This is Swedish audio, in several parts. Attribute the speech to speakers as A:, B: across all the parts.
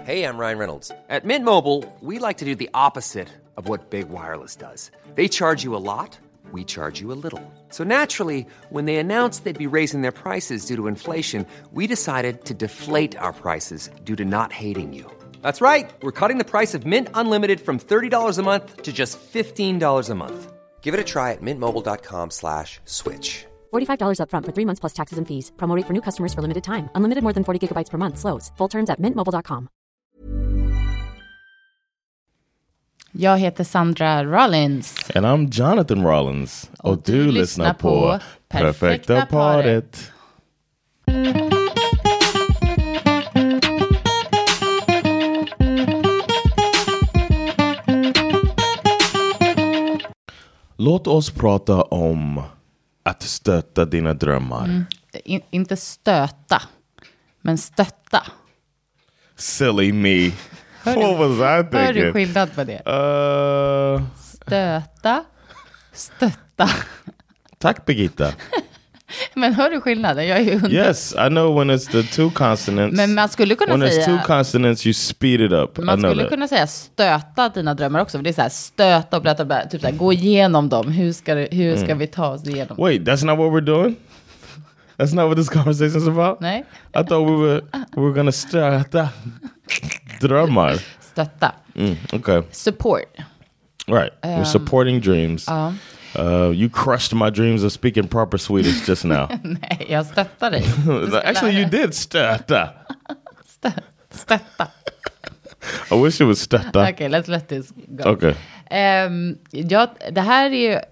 A: Hey, I'm Ryan Reynolds. At Mint Mobile, we like to do the opposite of what Big Wireless does. They charge you a lot, we charge you a little. So naturally, when they announced they'd be raising their prices due to inflation, we decided to deflate our prices due to not hating you. That's right. We're cutting the price of Mint Unlimited from $30 a month to just $15 a month. Give it a try at mintmobile.com/switch.
B: $45 up front for 3 months plus taxes and fees. Promo rate for new customers for limited time. Unlimited more than 40 gigabytes per month. Slows full terms at mintmobile.com.
C: Jag heter Sandra Rollins.
D: And I'm Jonathan Rollins. Och du lyssnar på Perfekta paret. Låt oss prata om att stötta dina drömmar.
C: Inte stöta, men stötta.
D: Silly me. What was I thinking?
C: Hör du skillnad på det? Stötta.
D: Tack, Birgitta.
C: Men hör du skillnaden? Jag är ju
D: Yes, I know when it's the two consonants.
C: Men man skulle kunna
D: when
C: säga...
D: When it's two consonants you speed it up.
C: Man skulle kunna säga stöta dina drömmar också. För det är så här, stöta och berätta, typ så här, gå igenom dem. Hur ska vi ta oss igenom?
D: Wait, that's not what we're doing? That's not what this conversation is about?
C: Nej.
D: I thought we were gonna stöta drömmar.
C: Stötta.
D: Okay.
C: Support.
D: Right. We're supporting dreams. You crushed my dreams of speaking proper Swedish just now.
C: Nej, jag stöttar dig.
D: Actually, you did stöta.
C: Stötta.
D: I wish it was stöta.
C: Okay, let's let this go.
D: Okay.
C: Det här är ju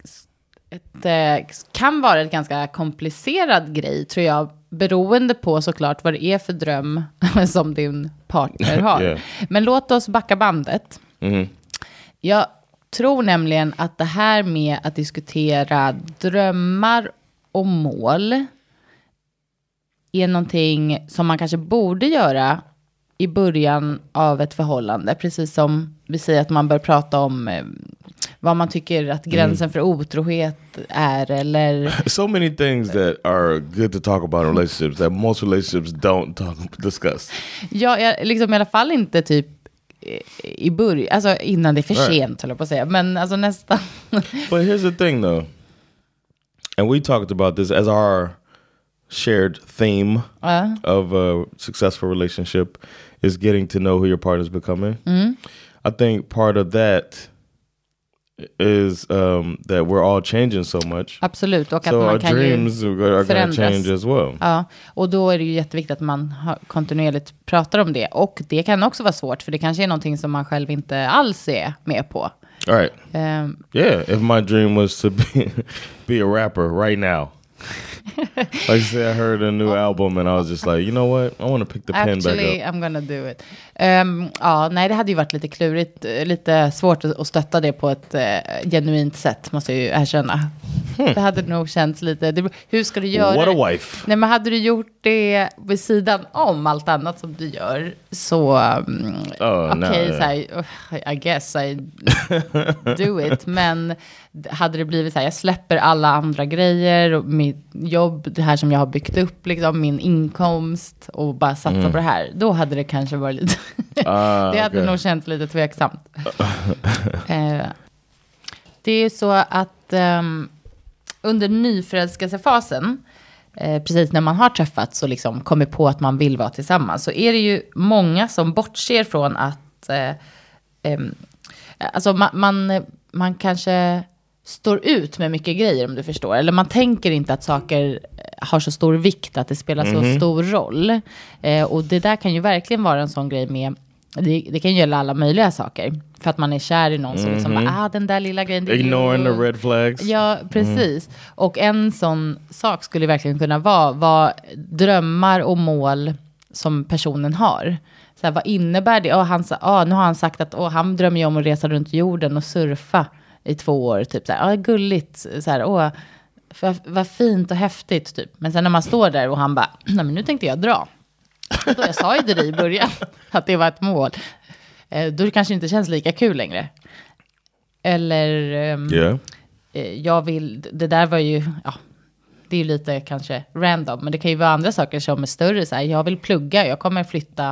C: kan vara ett ganska komplicerad grej, tror jag, beroende på såklart vad det är för dröm som din partner har.
D: Yeah.
C: Men låt oss backa bandet. Jag tror nämligen att det här med att diskutera drömmar och mål är någonting som man kanske borde göra i början av ett förhållande. Precis som vi säger att man bör prata om vad man tycker att gränsen för otrohet är, eller...
D: So many things that are good to talk about in relationships that most relationships don't discuss.
C: Ja, liksom i alla fall inte typ i början, alltså innan det är för sent, håller jag på att säga. Men alltså nästan.
D: But here's the thing though. And we talked about this as our shared theme of a successful relationship is getting to know who your partner's becoming. I think part of that is that we're all changing so much.
C: Absolut, och att
D: so
C: man
D: our
C: kan
D: dreams
C: ju
D: are going to change as well.
C: Ja, och då är det ju jätteviktigt att man kontinuerligt pratar om det. Och det kan också vara svårt, för det kanske är någonting som man själv inte alls är med på.
D: All right. Yeah, if my dream was to be a rapper right now. Like I say, I heard a new album and I was just like, you know what? I want to pick the pen back up.
C: Actually, I'm gonna do it. Ja, nej, det hade ju varit lite klurigt, lite svårt att stötta det på ett genuint sätt, måste jag ju erkänna. Det hade nog känts lite... hur ska du göra?
D: What a wife.
C: Nej, men hade du gjort det vid sidan om allt annat som du gör, så... Okej, så här, I guess I do it. Men hade det blivit så här, jag släpper alla andra grejer och mitt jobb, det här som jag har byggt upp, liksom, min inkomst, och bara satsa på det här, då hade det kanske varit lite... det hade nog känts lite tveksamt. Det är ju så att under nyförälskelsefasen, precis när man har träffats och liksom kommer på att man vill vara tillsammans, så är det ju många som bortser från att alltså man kanske står ut med mycket grejer, om du förstår. Eller man tänker inte att saker har så stor vikt, att det spelar så stor roll. Och det där kan ju verkligen vara en sån grej med... Det kan ju gälla alla möjliga saker. För att man är kär i någon, så liksom, den där lilla grejen...
D: Ignoring the red flags.
C: Ja, precis. Och en sån sak skulle verkligen kunna vara drömmar och mål som personen har. Så här, vad innebär det? Nu har han sagt att han drömmer ju om att resa runt jorden och surfa i 2 år. Typ så här, gulligt. Så här, vad fint och häftigt. Typ. Men sen när man står där och han bara, nej men nu tänkte jag dra. Då jag sa ju det i början att det var ett mål. Då det kanske inte känns lika kul längre. Eller jag vill, det där var ju, det är ju lite kanske random, men det kan ju vara andra saker som är större. Så här, jag vill plugga, jag kommer flytta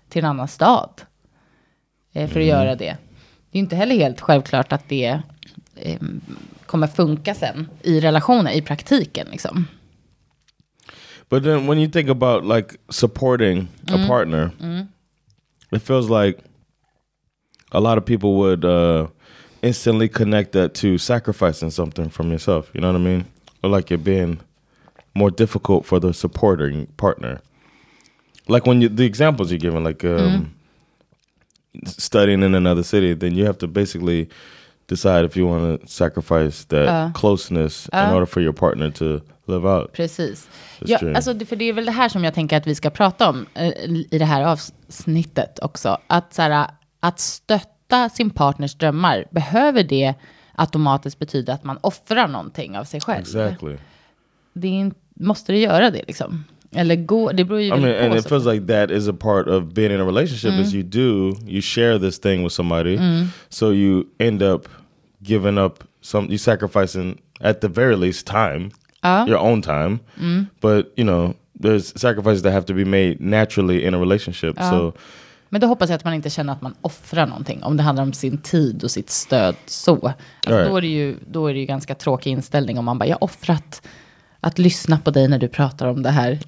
C: till en annan stad för att göra det. Det är inte heller helt självklart att det kommer funka sen i relationen, i praktiken liksom.
D: But then when you think about like supporting a partner, it feels like a lot of people would instantly connect that to sacrificing something from yourself. You know what I mean? Or like it being more difficult for the supporting partner. Like when the examples you're giving, like studying in another city, then you have to basically decide if you want to sacrifice that closeness in order for your partner to live out.
C: Precis. Ja, alltså, för det är väl det här som jag tänker att vi ska prata om i det här avsnittet också. Att, så här, att stötta sin partners drömmar, behöver det automatiskt betyda att man offrar någonting av sig själv?
D: Exactly.
C: Måste det göra det liksom? Eller det beror ju
D: I mean, and it feels like that is a part of being in a relationship is you share this thing with somebody, so you end up giving up you sacrificing at the very least time, your own time, but you know there's sacrifices that have to be made naturally in a relationship. So,
C: men då hoppas jag att man inte känner att man offrar någonting om det handlar om sin tid och sitt stöd så. Alltså, då är det ju ganska tråkig inställning om man bara, jag offrat att lyssna på dig när du pratar om det här.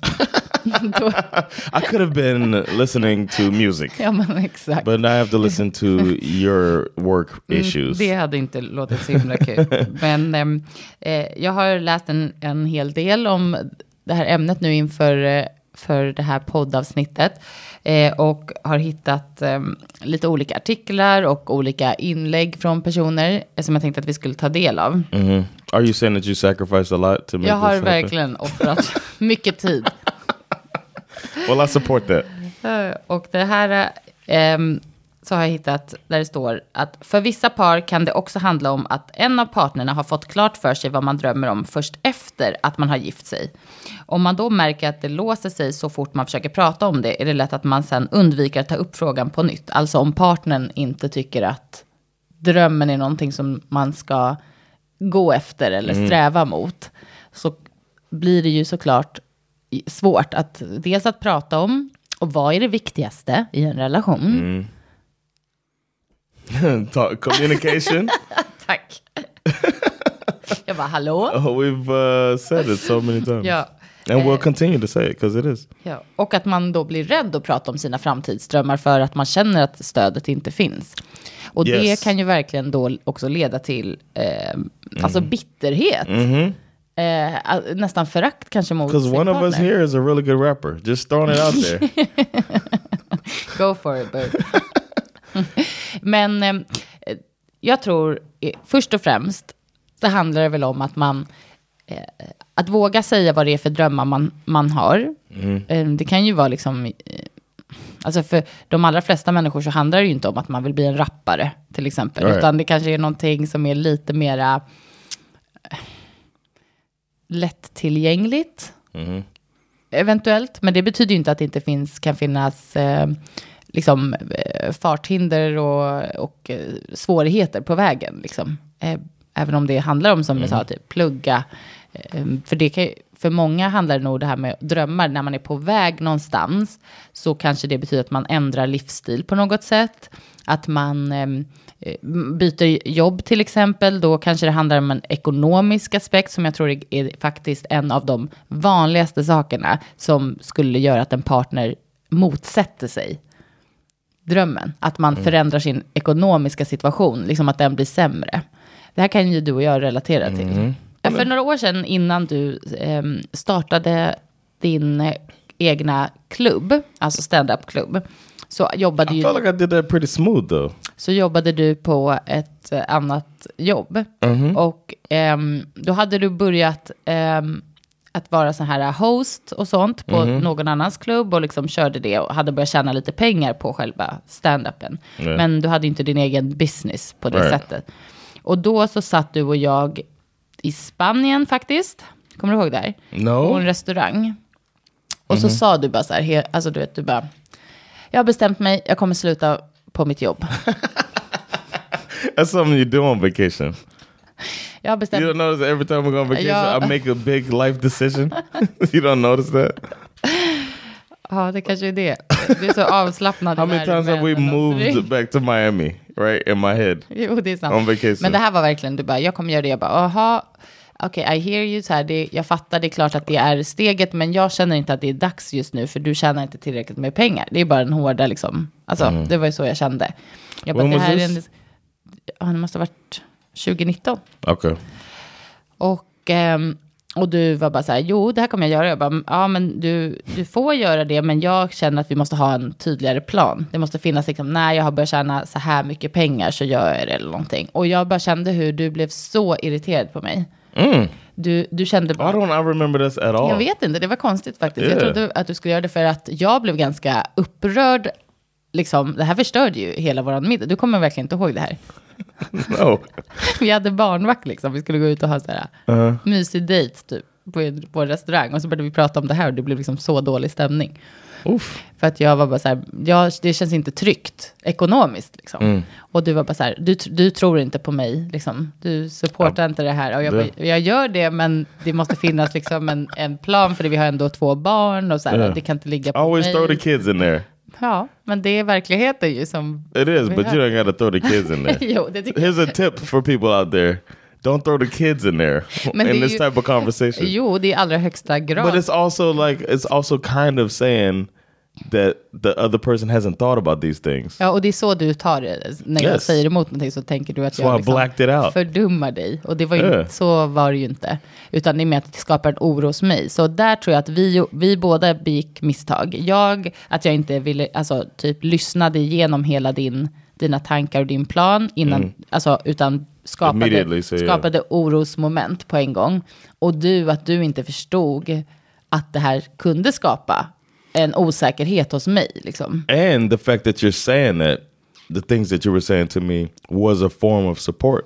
D: I could have been listening to music.
C: Ja, men exakt.
D: But I have to listen to your work issues.
C: Det hade inte låtit så himla kul. Men jag har läst en hel del om det här ämnet nu inför för det här poddavsnittet. Och har hittat lite olika artiklar och olika inlägg från personer som jag tänkte att vi skulle ta del av.
D: Are you saying that you sacrificed a lot to make
C: jag har
D: this
C: verkligen offrat mycket tid.
D: Well, I support that.
C: Och det här så har jag hittat där det står att för vissa par kan det också handla om att en av partnerna har fått klart för sig vad man drömmer om först efter att man har gift sig. Om man då märker att det låser sig så fort man försöker prata om det är det lätt att man sen undviker att ta upp frågan på nytt. Alltså om partnern inte tycker att drömmen är någonting som man ska gå efter eller sträva mot, så blir det ju såklart svårt att dels att prata om och vad är det viktigaste i en relation.
D: Communication.
C: Tack. Jag bara, hallå?
D: We've said it so many times.
C: Ja.
D: And we'll continue to say it because it is.
C: Ja. Och att man då blir rädd att prata om sina framtidsdrömmar för att man känner att stödet inte finns. Och det kan ju verkligen då också leda till alltså bitterhet. Nästan förakt kanske mot sin partner.
D: Because one of us here is a really good rapper. Just throwing it out there.
C: Go for it, boo. Men jag tror först och främst så handlar det väl om att man att våga säga vad det är för drömmar man har. Det kan ju vara liksom alltså för de allra flesta människor så handlar det ju inte om att man vill bli en rappare till exempel, utan det kanske är någonting som är lite mera lättillgängligt eventuellt, men det betyder ju inte att det inte kan finnas liksom farthinder och svårigheter på vägen liksom. Även om det handlar om, som jag sa, typ plugga. För det kan, för många handlar det nog det här med drömmar. När man är på väg någonstans så kanske det betyder att man ändrar livsstil på något sätt. Att man byter jobb till exempel. Då kanske det handlar om en ekonomisk aspekt som jag tror är faktiskt en av de vanligaste sakerna som skulle göra att en partner motsätter sig drömmen. Att man förändrar sin ekonomiska situation. Liksom att den blir sämre. Det här kan ju du och jag relatera till. För några år sedan innan du startade din egna klubb, alltså stand-up-klubb, så jobbade
D: I felt like I did that pretty smooth though.
C: Så jobbade du på ett annat jobb. Och då hade du börjat att vara så här host och sånt på någon annans klubb och liksom körde det och hade börjat tjäna lite pengar på själva stand-upen. Men du hade inte din egen business på det sättet. Och då så satt du och jag i Spanien faktiskt. Kommer du ihåg det?
D: No.
C: På en restaurang. Och så sa du bara så här, alltså du vet, du bara, jag har bestämt mig, jag kommer sluta på mitt jobb.
D: That's something you do on vacation.
C: Jag har bestämt.
D: You don't notice every time we go on vacation I make a big life decision? You don't notice that?
C: Ja, det kanske är det. Du är så avslappnad.
D: How many times have we moved back to Miami, right? In my head.
C: Jo, det är sant.
D: On vacation.
C: Men det här var verkligen, du bara, jag kommer göra det. Jag bara, aha, okej, I hear you. Så här, jag fattar, det är klart att det är steget, men jag känner inte att det är dags just nu, för du tjänar inte tillräckligt med pengar. Det är bara den hårda, liksom. Alltså, det var ju så jag kände. Jag bara,
D: When
C: det
D: was
C: här
D: this?
C: Det måste ha varit 2019.
D: Okay.
C: Och du var bara så här, jo, det här kommer jag göra. Jag bara, ja, men du får göra det, men jag känner att vi måste ha en tydligare plan. Det måste finnas liksom, när jag har börjat tjäna så här mycket pengar så gör jag det eller någonting. Och jag bara kände hur du blev så irriterad på mig. Du kände bara...
D: I don't remember this at all.
C: Jag vet inte, det var konstigt faktiskt. Jag trodde att du skulle göra det för att jag blev ganska upprörd. Liksom, det här förstörde ju hela våran middag. Du kommer verkligen inte ihåg det här.
D: No.
C: Vi hade barnvakt liksom. Vi skulle gå ut och ha så här mysig dejt typ på en restaurang. Och så började vi prata om det här och det blev liksom så dålig stämning.
D: Oof.
C: För att jag var bara så här, det känns inte tryggt ekonomiskt liksom. Och du var bara så här, du tror inte på mig liksom. Du supportar inte det här. Och jag bara, jag gör det, men det måste finnas liksom en plan, för det, vi har ändå 2 barn och så här, det kan inte ligga på
D: Always
C: mig.
D: throw the kids in there.
C: Ja, men det är verkligheten ju som...
D: It is, but you don't got to throw the kids in there.
C: Jo, det tycker
D: Here's a tip for people out there. Don't throw the kids in there in this type of conversation.
C: Jo, det är allra högsta grad.
D: But it's also kind of saying that the other person hasn't thought about these things.
C: Ja, och det är så du tar det. När jag säger emot någonting så tänker du att
D: So
C: jag
D: I
C: liksom
D: blacked it out.
C: fördummar dig. Och det var ju så var det ju inte. Utan det är mer att det skapar en oro hos mig. Så där tror jag att vi båda begick misstag. Att jag inte ville, alltså typ lyssnade igenom hela dina tankar och din plan innan, alltså utan skapade orosmoment på en gång. Och att du inte förstod att det här kunde skapa en osäkerhet hos mig liksom.
D: And the fact that you're saying that, the things that you were saying to me was a form of support.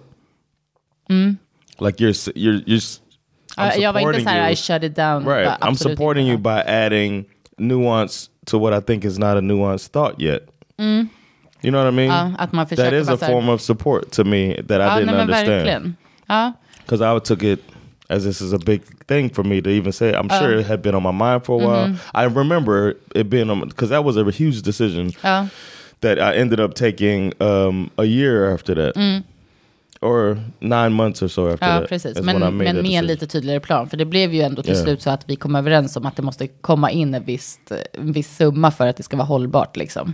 D: Like you're
C: jag var inte så här, I shut it down.
D: Right, I'm supporting you by adding nuance to what I think is not a nuanced thought yet. You know what I mean?
C: Att man
D: that is a form of support to me that I didn't understand.
C: Verkligen. Ja.
D: Because I took it as this is a big thing for me to even say. I'm sure it had been on my mind for a while. I remember it being on, because that was a huge decision that I ended up taking a year after that. Or 9 months or so after that.
C: Precis. Men med en lite tydligare plan. För det blev ju ändå till slut så att vi kom överens om att det måste komma in en viss summa för att det ska vara hållbart liksom.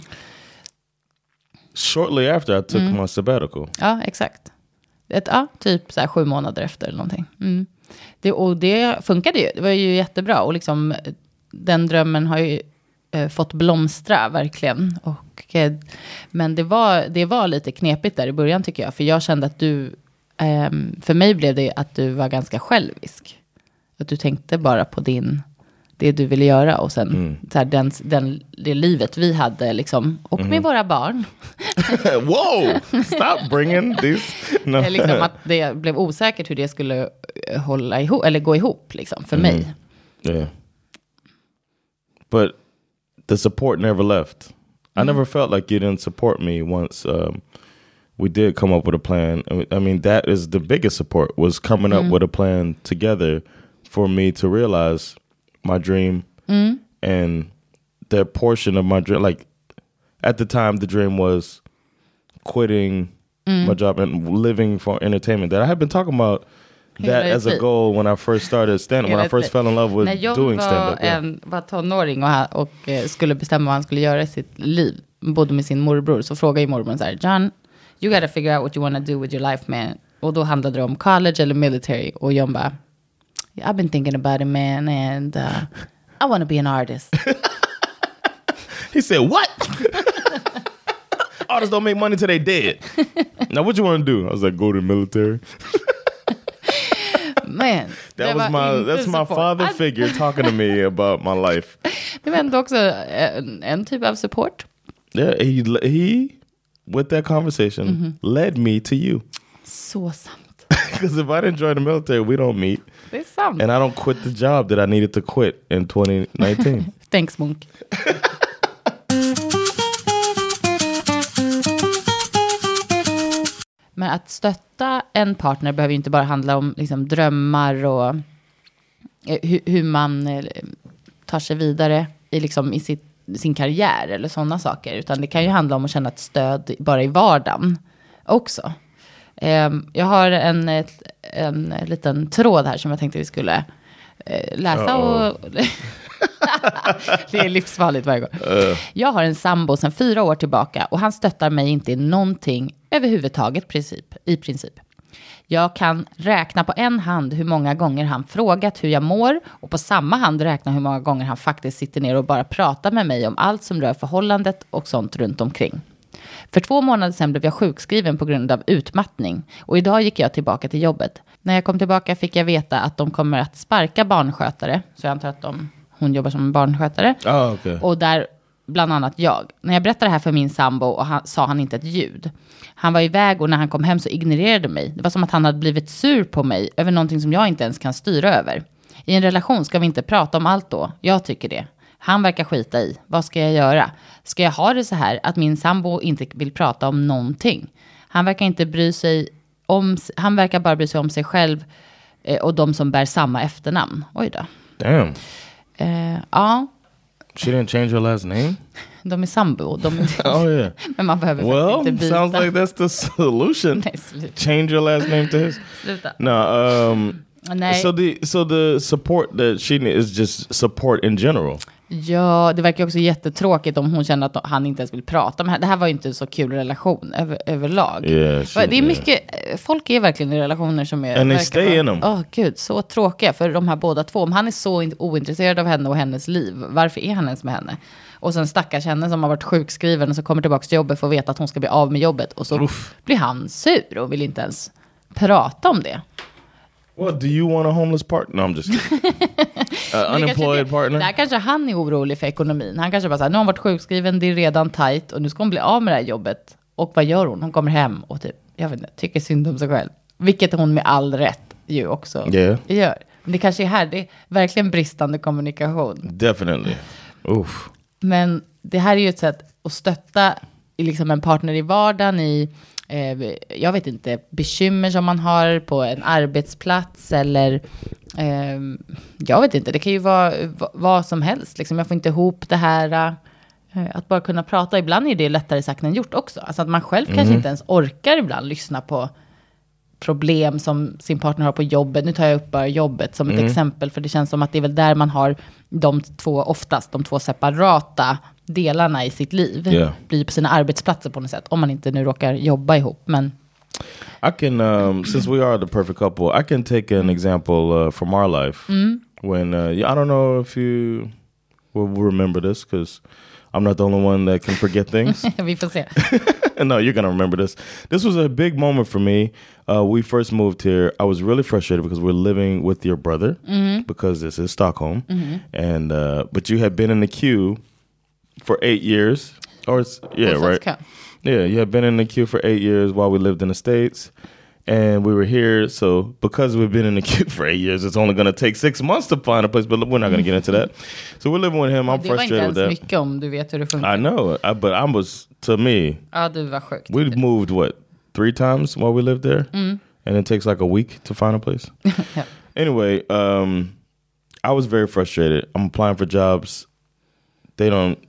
D: Shortly after I took my sabbatical.
C: Ja, exakt. Typ så här 7 månader efter eller någonting. Det funkade ju. Det var ju jättebra. Och liksom, den drömmen har ju fått blomstra verkligen. Men det var lite knepigt där i början tycker jag. För jag kände att för mig blev det att du var ganska självisk. Att du tänkte bara på det du ville göra. Och sen så här, det livet vi hade liksom. Och med våra barn.
D: Whoa! Stop bringing this. No.
C: Liksom att det blev osäkert hur det skulle hålla ihop. Eller gå ihop liksom, för mig.
D: Yeah. But the support never left. I never felt like you didn't support me once we did come up with a plan. I mean, that is the biggest support, was coming up with a plan together for me to realize my dream. And the portion of my dream, like at the time the dream was quitting my job and living for entertainment. That I had been talking about that as a goal when I first started stand-up, when I first fell in love with doing stand-up.
C: När jag var tonåring och skulle bestämma vad han skulle göra i sitt liv, bodde med sin morbror, så frågade ju morbror så här: John, you gotta figure out what you want to do with your life, man. Och då handlade det om college eller military. Och John bara, I've been thinking about it, man, and I want to be an artist.
D: He said, what? Artists don't make money till they dead. Now what you want to do? I was like, go to the military.
C: Man,
D: that's my father figure talking to me about my life.
C: Det var ändå också en typ av support.
D: Yeah, he with that conversation led me to you.
C: Så sant.
D: Because if I didn't join the military, we don't meet.
C: Det är sant.
D: And I don't quit the job that I needed to quit in 2019.
C: Thanks, Munk. Men att stötta en partner behöver ju inte bara handla om liksom drömmar och hur man tar sig vidare liksom i sin karriär eller sådana saker. Utan det kan ju handla om att känna ett stöd bara i vardagen också. Jag har en liten tråd här som jag tänkte vi skulle läsa. Och det är livsfarligt varje gång. Jag har en sambo sedan 4 år tillbaka och han stöttar mig inte i någonting överhuvudtaget i princip. Jag kan räkna på en hand hur många gånger han frågat hur jag mår och på samma hand räkna hur många gånger han faktiskt sitter ner och bara pratar med mig om allt som rör förhållandet och sånt runt omkring. För 2 månader sedan blev jag sjukskriven på grund av utmattning och idag gick jag tillbaka till jobbet. När jag kom tillbaka fick jag veta att de kommer att sparka barnskötare, så jag antar att hon jobbar som en barnskötare.
D: Okay.
C: Och där bland annat jag. När jag berättade det här för min sambo sa han inte ett ljud. Han var iväg och när han kom hem så ignorerade mig. Det var som att han hade blivit sur på mig över någonting som jag inte ens kan styra över. I en relation ska vi inte prata om allt då. Jag tycker det. Han verkar skita i. Vad ska jag göra? Ska jag ha det så här att min sambo inte vill prata om någonting? Han verkar bara bry sig om sig själv och de som bär samma efternamn. Oj då.
D: Damn.
C: Ja.
D: She didn't change her last name?
C: De är sambo.
D: Oh yeah.
C: Men man behöver faktiskt inte byta.
D: Sounds like that's the solution.
C: Nej, sluta.
D: Change your last name to his.
C: Sluta.
D: No,
C: Nej.
D: So the support that she needs is just support in general.
C: Ja, det verkar också jättetråkigt om hon känner att han inte ens vill prata med henne. Det här var ju inte en så kul relation överlag. Det är mycket, folk är verkligen i relationer som är...
D: And they stay in them.
C: Gud, så tråkiga för de här båda två. Om han är så ointresserad av henne och hennes liv, varför är han ens med henne? Och sen stackars henne som har varit sjukskriven och så kommer tillbaka till jobbet för att veta att hon ska bli av med jobbet. Och så blir han sur och vill inte ens prata om det.
D: What, do you want a homeless partner? No, I'm just kidding. Unemployed partner?
C: Där kanske han är orolig för ekonomin. Han kanske bara säger, nu har hon varit sjukskriven, det är redan tajt och nu ska hon bli av med det här jobbet. Och vad gör hon? Hon kommer hem och typ, jag vet inte, tycker synd om sig själv. Vilket hon med all rätt ju också gör. Men det kanske är här, det är verkligen bristande kommunikation.
D: Definitely. Oof.
C: Men det här är ju ett sätt att stötta liksom en partner i vardagen i... jag vet inte, bekymmer som man har på en arbetsplats eller jag vet inte, det kan ju vara vad som helst liksom. Jag får inte ihop det här att bara kunna prata, ibland är det lättare sagt än gjort också, alltså att man själv kanske inte ens orkar ibland lyssna på problem som sin partner har på jobbet. Nu tar jag upp bara jobbet som ett exempel, för det känns som att det är väl där man har de två separata delarna i sitt liv. Blir på sina arbetsplatser på något sätt, om man inte nu råkar jobba ihop. Men
D: I can, since we are the perfect couple, I can take an example from our life. When, I don't know if you will remember this, because I'm not the only one that can forget things.
C: Vi får se.
D: No, you're going to remember this. This was a big moment for me. We first moved here. I was really frustrated because we're living with your brother, because this is Stockholm. And but you had been in the queue for 8 years. Right? Yeah, you had been in the queue for 8 years while we lived in the States. And we were here, so because we've been in the queue for 8 years, it's only going to take 6 months to find a place, but we're not going to get into that. So we're living with him. I'm frustrated with that. Det var inte ens
C: mycket om du vet hur det funkar.
D: I know, but I was, to me...
C: Ja, du var sjukt.
D: We moved, 3 times while we lived there? And it takes like a week to find a place?
C: Yeah.
D: Anyway, I was very frustrated. I'm applying for jobs. I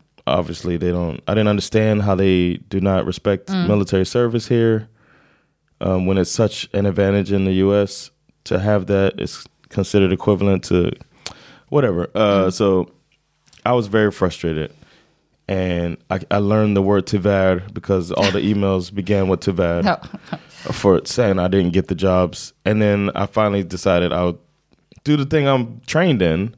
D: didn't understand how they do not respect military service here. When it's such an advantage in the U.S. to have that, it's considered equivalent to whatever. So I was very frustrated. And I learned the word tyvärr because all the emails began with tyvärr for saying I didn't get the jobs. And then I finally decided I would do the thing I'm trained in,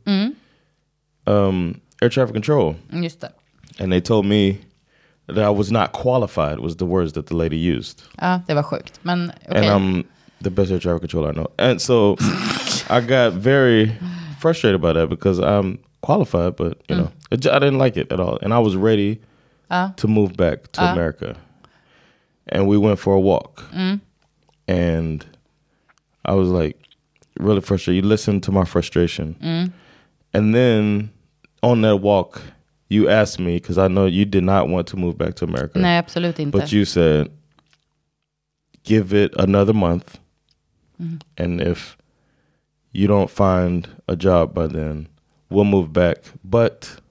D: air traffic control.
C: Just det.
D: And they told me that I was not qualified, was the words that the lady used.
C: Ja, det var sjukt. Men, okay.
D: And I'm the best air traffic controller I know. And so I got very frustrated about that because I'm qualified, but you know, I didn't like it at all. And I was ready to move back to America. And we went for a walk. And I was like really frustrated. You listened to my frustration. And then on that walk, you asked me, because I know you did not want to move back to America.
C: Nej, absolut inte.
D: But you said, give it another month. And if you don't find a job by then, we'll move back. But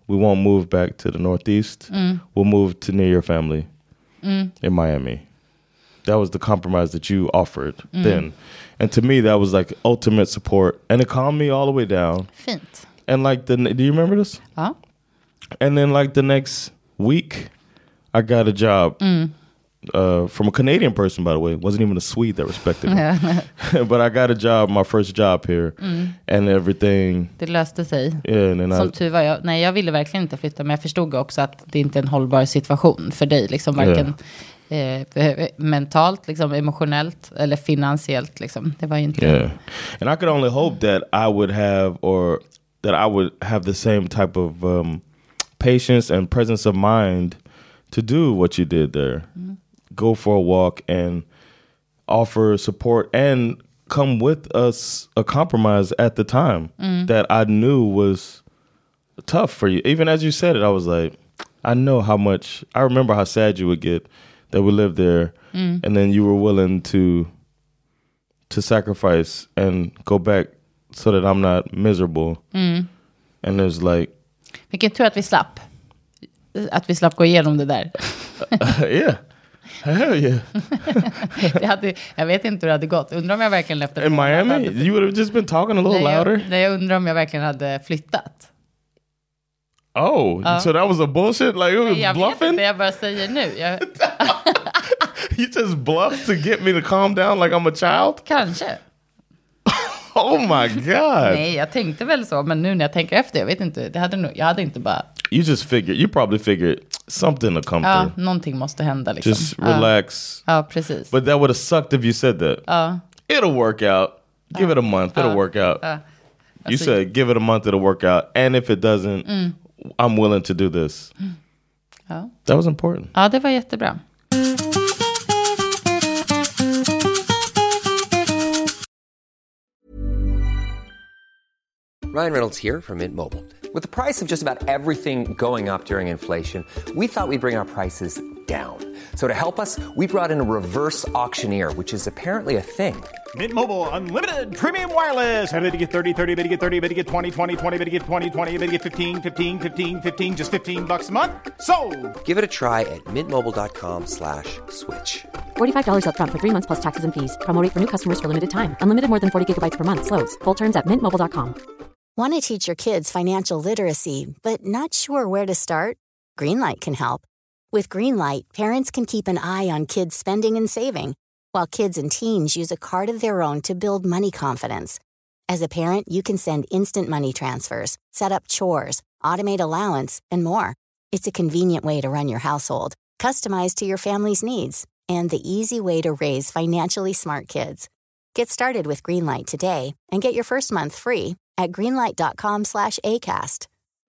D: we won't move back to the Northeast. We'll move to near your family in Miami. That was the compromise that you offered then. And to me, that was like ultimate support. And it calmed me all the way down.
C: Fint.
D: And like, do you remember this?
C: Ja.
D: And then like the next week, I got a job from a Canadian person, by the way. It wasn't even a Swede that respected me. But I got a job, my first job here. And everything.
C: Det löste sig.
D: Yeah,
C: Som tur var jag ville verkligen inte flytta. Men jag förstod också att det inte är en hållbar situation för dig. Liksom varken mentalt, liksom, emotionellt eller finansiellt. Liksom. Det var ju inte...
D: Yeah. And I could only hope that I would have the same type of patience and presence of mind to do what you did there. Go for a walk and offer support and come with us a compromise at the time that I knew was tough for you. Even as you said it, I was like, I know how much, I remember how sad you would get that we lived there and then you were willing to sacrifice and go back so that I'm not miserable. And there's like...
C: Vilken tur att vi slapp. Att vi slapp gå igenom det där.
D: Yeah. Hell yeah.
C: Jag vet inte hur det hade gått. Undrar om jag verkligen efter...
D: In Miami? You would have just been talking a little louder?
C: Jag undrar om jag verkligen hade flyttat.
D: Oh, so that was a bullshit? Like, it was
C: jag
D: bluffing?
C: Vet inte, jag bara säger nu.
D: You just bluffed to get me to calm down like I'm a child?
C: Kanske.
D: Oh my God.
C: Nej, jag tänkte väl så. Men nu när jag tänker efter, jag vet inte. Jag hade inte bara...
D: You probably figured something will come through.
C: Någonting måste hända liksom.
D: Just relax.
C: Ja, precis.
D: But that would have sucked if you said that. It'll work out. Give it a month. It'll work out. You said give it a month, it'll work out. And if it doesn't, I'm willing to do this. That was important.
C: Ja, det var jättebra.
A: Ryan Reynolds here from Mint Mobile. With the price of just about everything going up during inflation, we thought we'd bring our prices down. So to help us, we brought in a reverse auctioneer, which is apparently a thing.
E: Mint Mobile Unlimited Premium Wireless. How to get 30, 30, bit to get 30, bit to get 20, 20, 20, bit to get 20, 20, bit to get 15, 15, 15, 15, just $15 a month? Sold!
A: Give it a try at mintmobile.com/switch.
B: $45 up front for 3 months plus taxes and fees. Promo rate for new customers for limited time. Unlimited more than 40 gigabytes per month. Slows full terms at mintmobile.com.
F: Want to teach your kids financial literacy, but not sure where to start? Greenlight can help. With Greenlight, parents can keep an eye on kids' spending and saving, while kids and teens use a card of their own to build money confidence. As a parent, you can send instant money transfers, set up chores, automate allowance, and more. It's a convenient way to run your household, customized to your family's needs, and the easy way to raise financially smart kids. Get started with Greenlight today and get your first month free at greenlight.com/ACAST.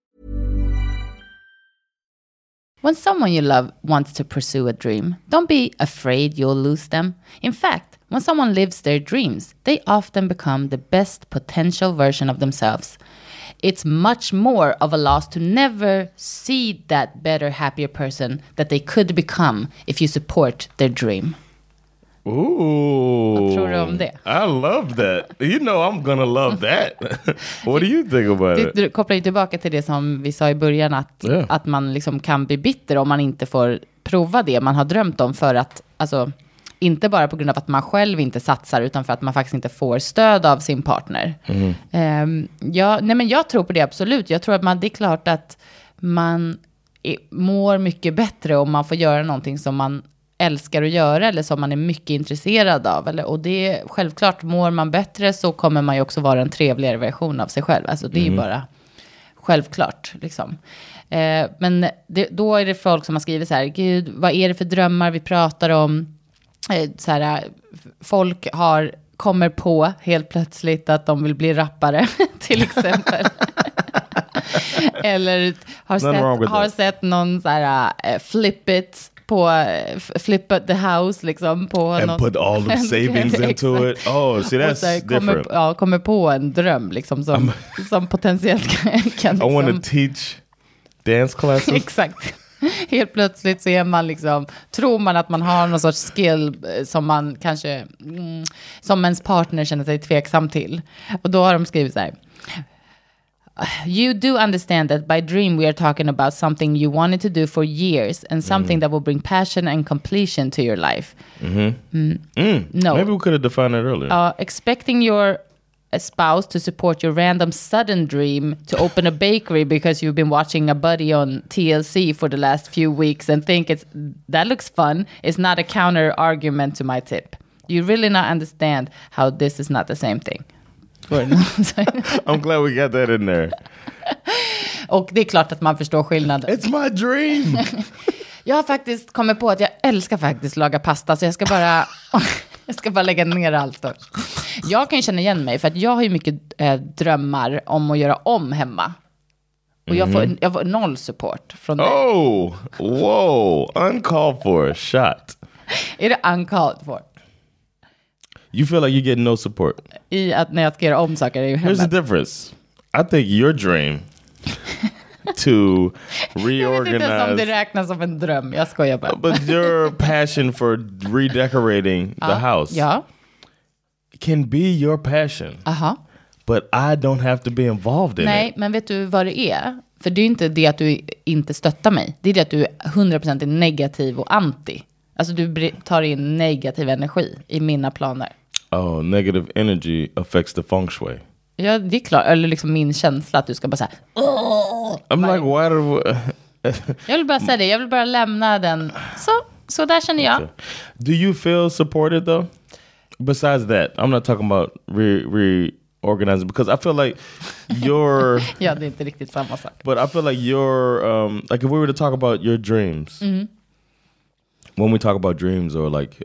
C: When someone you love wants to pursue a dream, don't be afraid you'll lose them. In fact, when someone lives their dreams, they often become the best potential version of themselves. It's much more of a loss to never see that better, happier person that they could become if you support their dream.
D: Ooh.
C: Vad tror du om det?
D: I love that. You know I'm gonna love that. What do you think about it?
C: Du kopplar ju tillbaka till det som vi sa i början, att man liksom kan bli bitter om man inte får prova det man har drömt om, för att, alltså, inte bara på grund av att man själv inte satsar, utan för att man faktiskt inte får stöd av sin partner. Men jag tror på det, absolut. Jag tror att det är klart att man mår mycket bättre om man får göra någonting som man älskar att göra, eller som man är mycket intresserad av, och det självklart, mår man bättre så kommer man ju också vara en trevligare version av sig själv, alltså det är ju bara självklart liksom. Men då är det folk som har skrivit så här: gud, vad är det för drömmar vi pratar om? Så här, folk kommer på helt plötsligt att de vill bli rappare till exempel. Eller har sett någon så här flip the house liksom på
D: and
C: något,
D: put all the savings into it. Oh, see, that's different.
C: Kommer på en dröm liksom som potentiellt kan liksom,
D: I want to teach dance classes.
C: Exakt. Helt plötsligt så är man liksom, tror man att man har någon sorts skill som man kanske som ens partner känner sig tveksam till. Och då har de skrivit så här: you do understand that by dream we are talking about something you wanted to do for years and something that will bring passion and completion to your life. No.
D: Maybe we could have defined that earlier.
C: Expecting your spouse to support your random sudden dream to open a bakery because you've been watching a buddy on TLC for the last few weeks and think that looks fun is not a counter argument to my tip. You really not understand how this is not the same thing.
D: I'm glad we got that in there.
C: Och det är klart att man förstår skillnaden.
D: It's my dream.
C: Jag har faktiskt kommit på att jag älskar faktiskt laga pasta, så jag ska bara lägga ner allt då. Jag kan ju känna igen mig för att jag har ju mycket drömmar om att göra om hemma. Och jag får noll support från dig.
D: Oh, whoa, uncalled for shot.
C: Är det uncalled for?
D: You feel like you get no support?
C: I att när jag ska göra om saker i hemmet.
D: Here's the difference. I think your dream to reorganize... Jag vet inte ens om det räknas som en dröm. Jag skojar bara. But your passion for redecorating the house can be your passion. But I don't have to be involved in it.
C: Nej, men vet du vad det är? För det är inte det att du inte stöttar mig. Det är det att du är 100% negativ och anti. Alltså du tar in negativ energi i mina planer.
D: Oh, negative energy affects the feng shui.
C: Ja, det är klart. Eller liksom min känsla att du ska bara säga.
D: I'm like, why do...
C: Jag vill bara säga det. Jag vill bara lämna den. Så där känner jag.
D: Do you feel supported though? Besides that, I'm not talking about reorganizing because I feel like you're...
C: Ja, det är inte riktigt samma sak.
D: But I feel like you're... like if we were to talk about your dreams... When we talk about dreams or like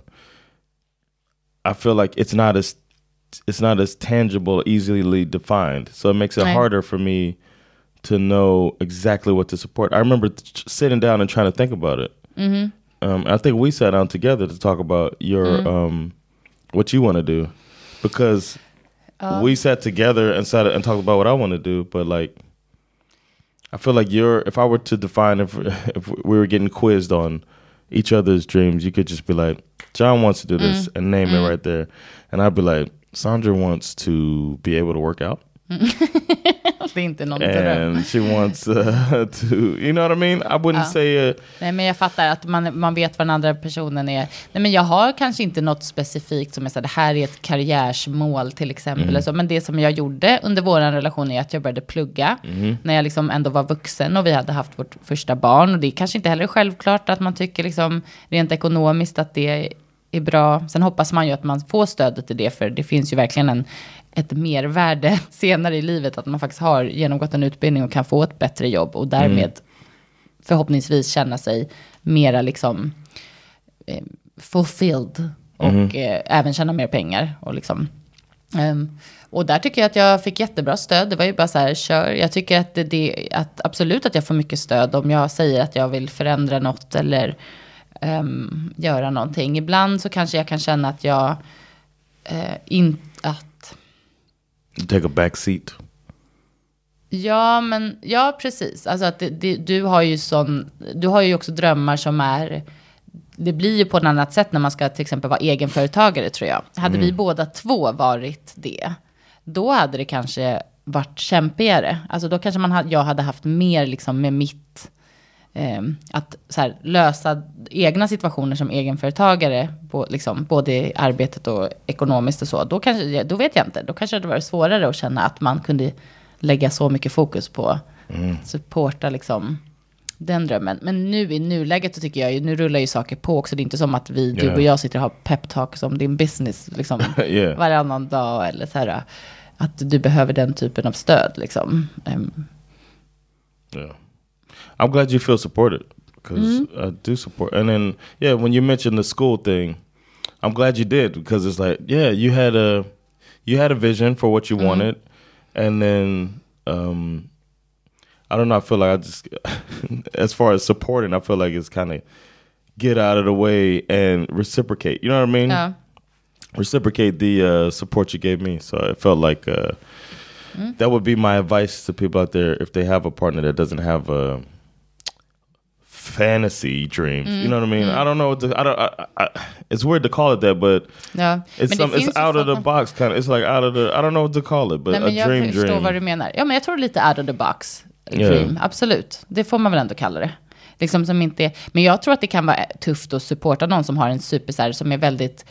D: I feel like it's not as tangible, easily defined. So it makes it harder for me to know exactly what to support. I remember sitting down and trying to think about it. I think we sat down together to talk about your what you want to do because we sat together and talked about what I want to do, but like I feel like if I were to define if we were getting quizzed on each other's dreams, you could just be like, John wants to do this and name it right there. And I'd be like, Sandra wants to be able to work out.
C: Det är inte någon dröm.
D: And she wants to, you know what I mean? I wouldn't say...
C: Nej, men jag fattar att man vet vad den andra personen är. Nej, men jag har kanske inte något specifikt som jag sa, det här är ett karriärsmål till exempel. Eller så. Men det som jag gjorde under vår relation är att jag började plugga. När jag liksom ändå var vuxen och vi hade haft vårt första barn. Och det är kanske inte heller självklart att man tycker liksom, rent ekonomiskt att det är bra. Sen hoppas man ju att man får stödet till det, för det finns ju verkligen ett mervärde senare i livet att man faktiskt har genomgått en utbildning och kan få ett bättre jobb och därmed förhoppningsvis känna sig mera liksom fulfilled och även tjäna mer pengar och liksom och där tycker jag att jag fick jättebra stöd. Det var ju bara så här, kör. Jag tycker att att absolut att jag får mycket stöd om jag säger att jag vill förändra något eller göra någonting. Ibland så kanske jag kan känna att jag
D: take a back seat.
C: Ja, precis. Alltså att du har ju också drömmar som är, det blir ju på ett annat sätt när man ska till exempel vara egenföretagare, tror jag. Hade vi båda två varit det, då hade det kanske varit kämpigare. Alltså då kanske jag hade haft mer liksom med mitt att så här, lösa egna situationer som egenföretagare på, liksom, både i arbetet och ekonomiskt och så. Då vet jag inte. Då kanske det var svårare att känna att man kunde lägga så mycket fokus på att supporta liksom, den drömmen. Men nu i nuläget så tycker jag, nu rullar ju saker på också. Det är inte som att du och jag sitter och har peptalks om din business liksom, varannan dag eller så här, att du behöver den typen av stöd liksom.
D: I'm glad you feel supported because I do support. And then, when you mentioned the school thing, I'm glad you did because it's like, you had a vision for what you wanted. And then, I don't know, I feel like I just, as far as supporting, I feel like it's kind of get out of the way and reciprocate. You know what I mean?
C: Yeah.
D: Reciprocate the support you gave me. So it felt like that would be my advice to people out there if they have a partner that doesn't have fantasy dreams. You know what I mean? I don't know what it's weird to call it that, but it's out of the box kind of. It's like out of the, I don't know what to call it, but
C: Nej, men
D: a dream.
C: Jag förstår vad du menar. Ja, men jag tror lite out of the box dream. Absolut. Det får man väl ändå kalla det. Liksom som inte, men jag tror att det kan vara tufft att supporta någon som har en supersär som är väldigt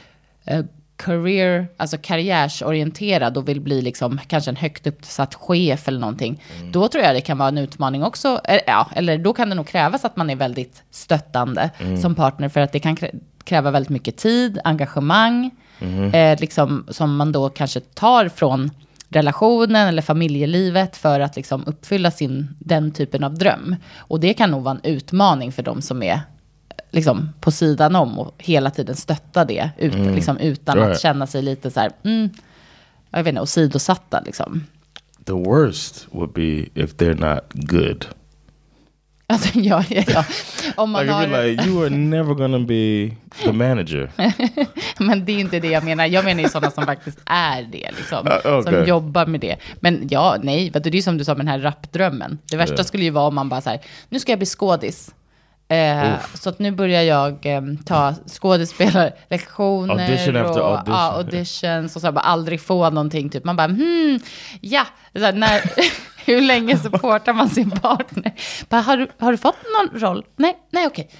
C: karriärsorienterad och vill bli liksom kanske en högt uppsatt chef eller någonting. Då tror jag det kan vara en utmaning också. Eller då kan det nog krävas att man är väldigt stöttande som partner, för att det kan kräva väldigt mycket tid, engagemang, liksom, som man då kanske tar från relationen eller familjelivet för att liksom uppfylla den typen av dröm. Och det kan nog vara en utmaning för dem som är liksom på sidan om och hela tiden stötta det liksom, utan att känna sig lite så här, jag vet inte, åsidosatta liksom.
D: The worst would be if they're not good.
C: Alltså, ja. Om man
D: like, you are never gonna be the manager.
C: Men det är inte det jag menar. Jag menar ju sådana som faktiskt är det liksom, som jobbar med det. Men det är ju som du sa med den här rapdrömmen. Det värsta skulle ju vara om man bara så här, nu ska jag bli skådis. Så att nu börjar jag ta skådespelarlektioner och auditions och så här, bara aldrig få någonting typ. Man bara så här, hur länge supportar man sin partner? Bara, har du fått någon roll? Nej okej.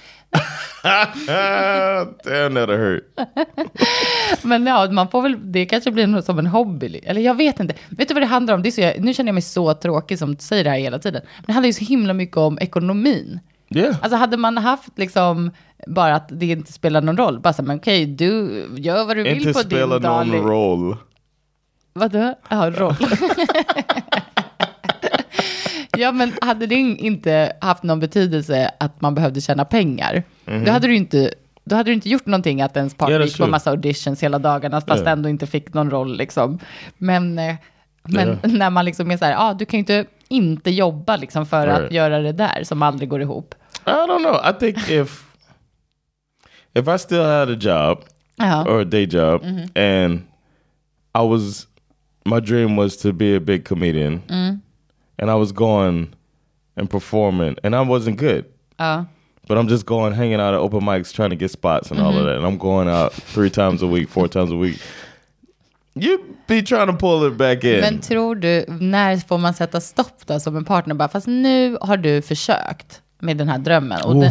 D: Damn, that hurt.
C: Men man får väl, det kanske blir något som en hobby. Eller jag vet inte. Vet du vad det handlar om? Det är så nu känner jag mig så tråkig som du säger det här hela tiden. Men det handlar ju så himla mycket om ekonomin.
D: Yeah.
C: Alltså hade man haft liksom bara att det inte spelar någon roll. Bara så, men okej, du gör vad du vill
D: inte
C: på din dag.
D: Inte spelar någon roll.
C: Vadå? Ja, roll. Ja, men hade det inte haft någon betydelse att man behövde tjäna pengar, då hade du inte gjort någonting att ens partner gick på massa auditions hela dagarna fast ändå inte fick någon roll liksom. Men när man liksom är så här, du kan ju inte jobba liksom för att göra det där som aldrig går ihop.
D: I don't know. I think if I still had a job or a day job and my dream was to be a big comedian and I was going and performing and I wasn't good. But I'm just going, hanging out at open mics, trying to get spots and all of that. And I'm going out 3 times a week, 4 times a week. You be trying to pull it back in.
C: Men tror du, när får man sätta stopp då som en partner? Bara, fast nu har du försökt med den här drömmen. Och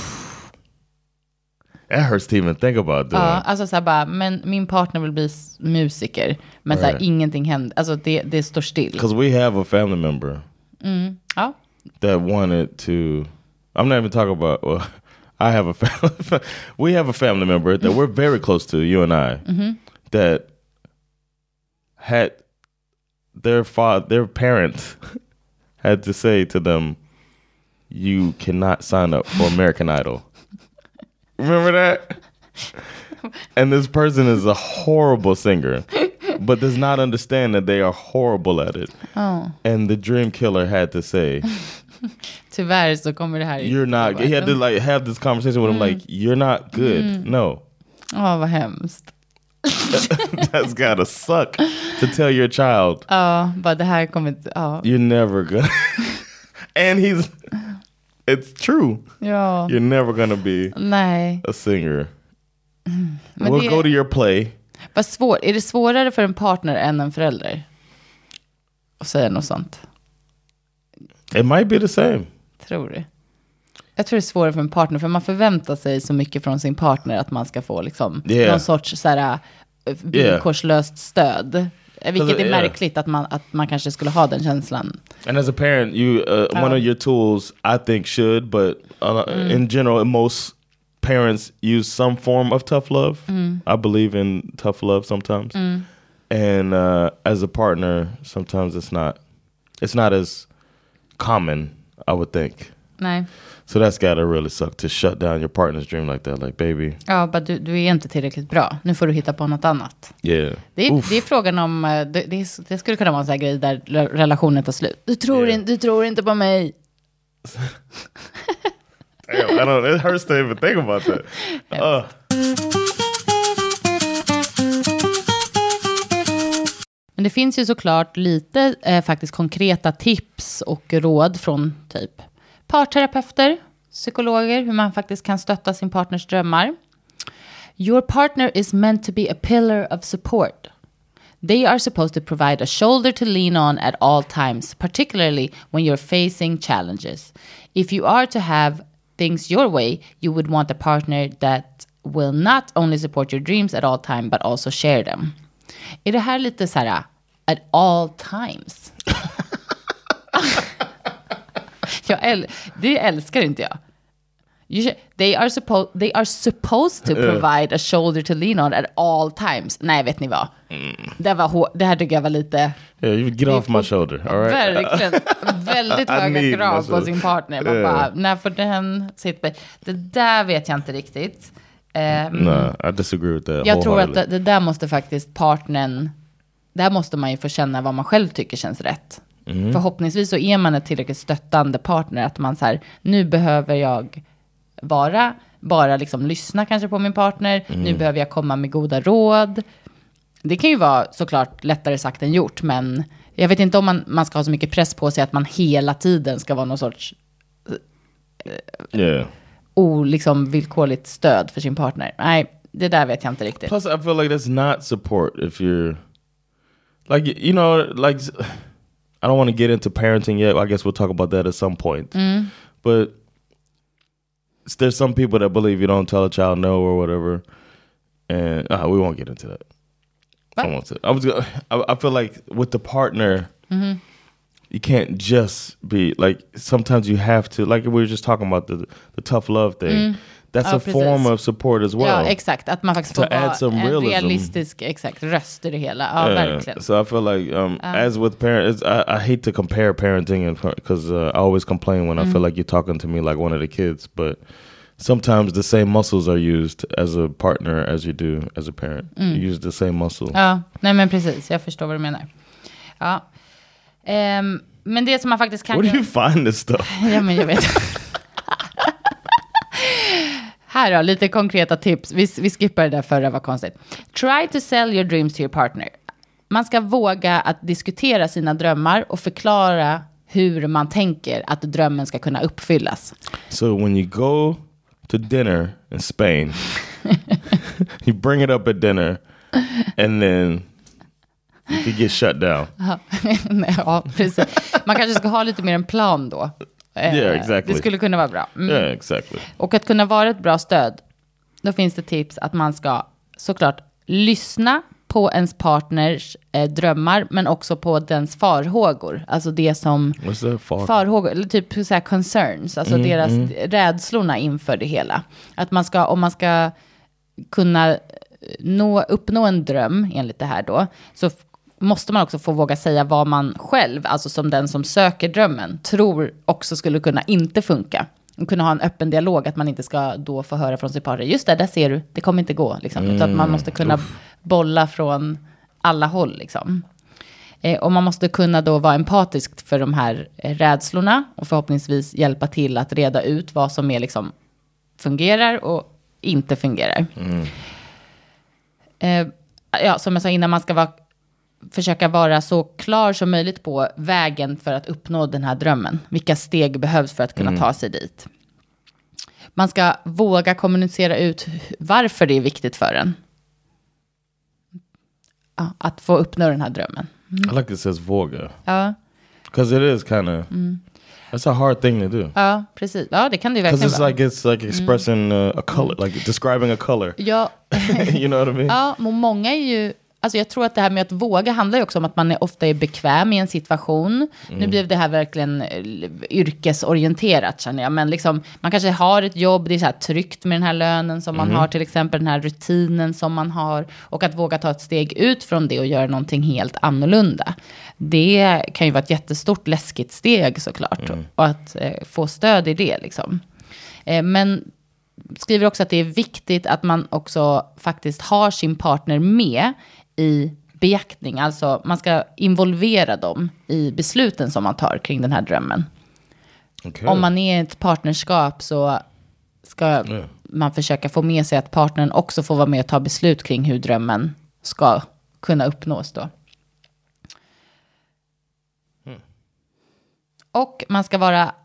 D: That hurts to even think about doing.
C: Ja, alltså så här bara, men min partner vill bli musiker. Men så här, ingenting händer. Alltså det står still.
D: Because we have a family member that wanted to... I'm not even talking about... Well, I have a family... We have a family member that we're very close to, you and I, that had their parents had to say to them, you cannot sign up for American Idol. Remember that? And this person is a horrible singer, but does not understand that they are horrible at it. And the dream killer had to say,
C: tyvärr så kommer det här.
D: You're not. He had to like have this conversation with him like, you're not good. No.
C: Vad hemskt.
D: That's gotta suck to tell your child.
C: Bara det här kommer
D: You're never gonna. And it's true.
C: Ja.
D: You're never gonna be a singer.
C: Men
D: we'll go to your play.
C: Är det svårare för en partner än en förälder att säga något sånt?
D: It might be the same.
C: Tror du? Jag tror det är svårare för en partner, för man förväntar sig så mycket från sin partner att man ska få liksom någon sorts så här villkorslöst stöd. Vilket är märkligt att man kanske skulle ha den känslan.
D: And as a parent, one of your tools I think should, but in general, most parents use some form of tough love. I believe in tough love sometimes. And as a partner, sometimes it's not as common, I would think.
C: Nej.
D: So that's gotta really suck to shut down your partner's dream like that, like baby.
C: Ja, men du är inte tillräckligt bra. Nu får du hitta på något annat.
D: Yeah.
C: Det är frågan om det skulle kunna vara en sån här grej där relationen tar slut. Du tror inte på mig.
D: Damn, it hurts to even think about that.
C: Men det finns ju såklart lite faktiskt konkreta tips och råd från typ parterapeuter psykologer hur man faktiskt kan stötta sin partners drömmar. Your partner is meant to be a pillar of support. They are supposed to provide a shoulder to lean on at all times, particularly when you're facing challenges. If you are to have things your way, you would want a partner that will not only support your dreams at all time, but also share them. Är det här lite så här, at all times? Det älskar inte jag. They are supposed to provide a shoulder to lean on at all times. Nej, vet ni vad? Det här tycker jag var lite...
D: Yeah, you get off my shoulder, all right?
C: Verkligen. Väldigt höga krav på sin partner. Man bara, när får den sitta... Det där vet jag inte riktigt.
D: No, I disagree with that.
C: Jag tror att det där måste faktiskt partnern... Där måste man ju få känna vad man själv tycker känns rätt. Förhoppningsvis så är man ett tillräckligt stöttande partner. Att man så här, nu behöver jag... bara liksom lyssna kanske på min partner. Nu behöver jag komma med goda råd. Det kan ju vara såklart lättare sagt än gjort, men jag vet inte om man ska ha så mycket press på sig att man hela tiden ska vara någon sorts liksom villkorligt stöd för sin partner. Nej, det där vet jag inte riktigt.
D: Plus I feel like that's not support if you're like, you know, like I don't want to get into parenting yet. I guess we'll talk about that at some point. But there's some people that believe you don't tell a child no or whatever, and we won't get into that. I feel like with the partner, you can't just be like. Sometimes you have to, like we were just talking about the tough love thing. That's a form of support as well.
C: Ja, exakt. Att man faktiskt får vara en realistisk röst i det hela. Ja, verkligen.
D: So I feel like, as with parents, I hate to compare parenting because I always complain when I feel like you're talking to me like one of the kids. But sometimes the same muscles are used as a partner as you do as a parent. You use the same muscle.
C: Ja, nej men precis. Jag förstår vad du menar. Ja. Men det som man faktiskt kan...
D: Where do you find this stuff?
C: Ja, men jag vet. Här då, lite konkreta tips. Vi skippar det där förra, var konstigt. Try to sell your dreams to your partner. Man ska våga att diskutera sina drömmar och förklara hur man tänker att drömmen ska kunna uppfyllas.
D: So when you go to dinner in Spain, you bring it up at dinner and then you could get shut down.
C: Ja, precis. Man kanske ska ha lite mer en plan då.
D: Yeah, exactly.
C: Det skulle kunna vara bra.
D: Yeah, exactly.
C: Och att kunna vara ett bra stöd, då finns det tips att man ska såklart lyssna på ens partners drömmar, men också på dens farhågor. Alltså det som... farhågor, eller typ så här concerns. Alltså deras rädslorna inför det hela. Att man ska, om man ska kunna uppnå en dröm enligt det här då, så måste man också få våga säga vad man själv, alltså som den som söker drömmen, tror också skulle kunna inte funka. Och kunna ha en öppen dialog, att man inte ska då få höra från sin partner, just det, där ser du, det kommer inte gå. Liksom. Utan att man måste kunna bolla från alla håll. Liksom. Och man måste kunna då vara empatisk för de här rädslorna och förhoppningsvis hjälpa till att reda ut vad som är liksom fungerar och inte fungerar. Ja, som jag sa innan, man ska försöka vara så klar som möjligt på vägen för att uppnå den här drömmen. Vilka steg behövs för att kunna ta sig dit. Man ska våga kommunicera ut varför det är viktigt för en. Ja, att få uppnå den här drömmen.
D: I like it says våga.
C: Ja.
D: Because it is kind of... That's a hard thing to do.
C: Ja, precis. Ja, det kan det ju verkligen vara.
D: Because it's like expressing a color, like describing a color.
C: Ja.
D: You know what I mean?
C: Ja, men många är ju... Alltså jag tror att det här med att våga handlar ju också om att man ofta är bekväm i en situation. Nu blev det här verkligen yrkesorienterat, känner jag. Men liksom, man kanske har ett jobb, det är så här tryggt med den här lönen som man har, till exempel den här rutinen som man har. Och att våga ta ett steg ut från det och göra någonting helt annorlunda. Det kan ju vara ett jättestort läskigt steg såklart. Och att få stöd i det liksom. Men skriver också att det är viktigt att man också faktiskt har sin partner med i beaktning. Alltså man ska involvera dem i besluten som man tar kring den här drömmen. Okay. Om man är i ett partnerskap så ska man försöka få med sig att partnern också får vara med och ta beslut kring hur drömmen ska kunna uppnås då. Och man ska vara